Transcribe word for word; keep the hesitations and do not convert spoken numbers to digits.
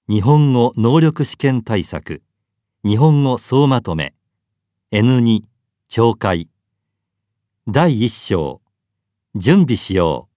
日本語能力試験対策日本語総まとめ エヌに 懲戒だいいっ章準備しよう。